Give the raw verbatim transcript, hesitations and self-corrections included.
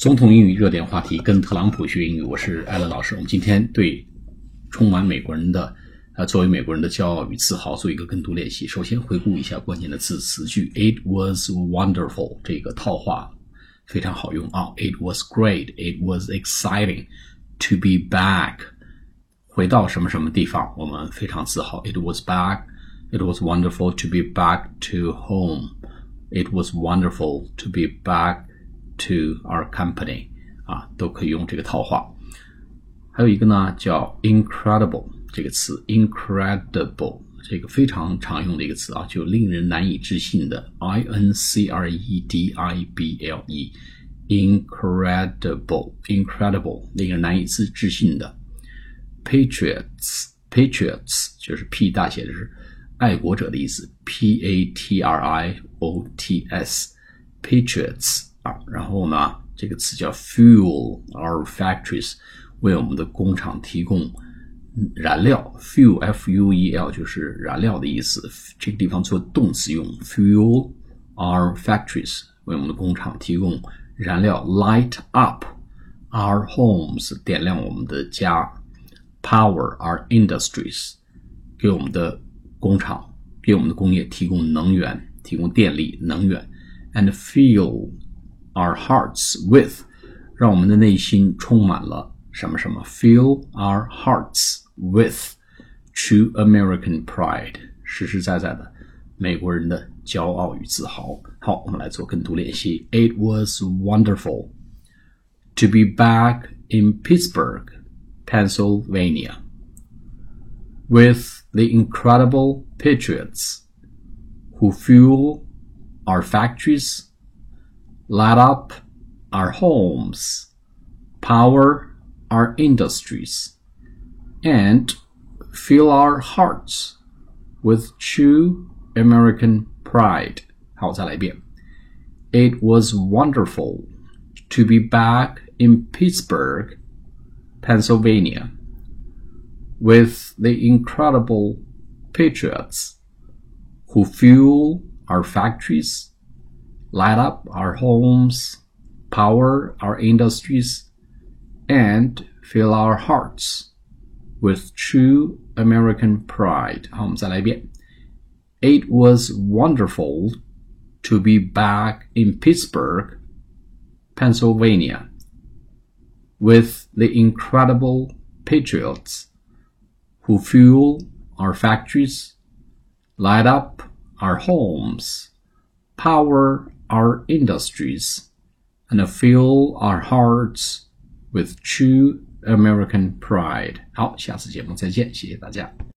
总统英语热点话题，跟特朗普学英语，我是艾伦老师。我们今天对充满美国人的呃，作为美国人的骄傲与自豪做一个跟读练习。首先回顾一下关键的字词句 It was wonderful 这个套话非常好用啊 It was great, it was exciting to be back 回到什么什么地方我们非常自豪 It was back, it was wonderful to be back to home It was wonderful to be back to our company 啊，都可以用这个套话。还有一个呢叫 incredible 这个词 incredible 这个非常常用的一个词啊，就令人难以置信的 I N C R E D I B L E incredible incredible 令人难以置信的 patriots patriots 就是 P 大写的是爱国者的意思 P A T R I O T S patriots 啊，然后呢这个词叫 fuel our factories 为我们的工厂提供燃料 fuel F U E L 就是燃料的意思，这个地方做动词用 fuel our factories 为我们的工厂提供燃料 light up our homes 点亮我们的家 power our industries 给我们的工厂给我们的工业提供能源提供电力能源 and fill our hearts with 让我们的内心充满了什么什么 fill our hearts with true American pride 实实在在的美国人的骄傲与自豪。好，我们来做跟读练习。It was wonderful to be back in Pittsburgh, Pennsylvania, with the incredible patriots who fuel our factories, light up our homes, power our industries, and fill our hearts with true American pride. 好，再来一遍。It was wonderful to be back in Pittsburgh, Pennsylvania, with the incredible patriots who fuel our factories, light up our homes, power our industries, and fill our hearts with true American pride. 好，我们再来一遍。It was wonderful to be back in Pittsburgh, Pennsylvania, with the incredible patriots who fuel our factories, light up our homes, power our industries, and fill our hearts with true American pride. 好，下次节目再见，谢谢大家。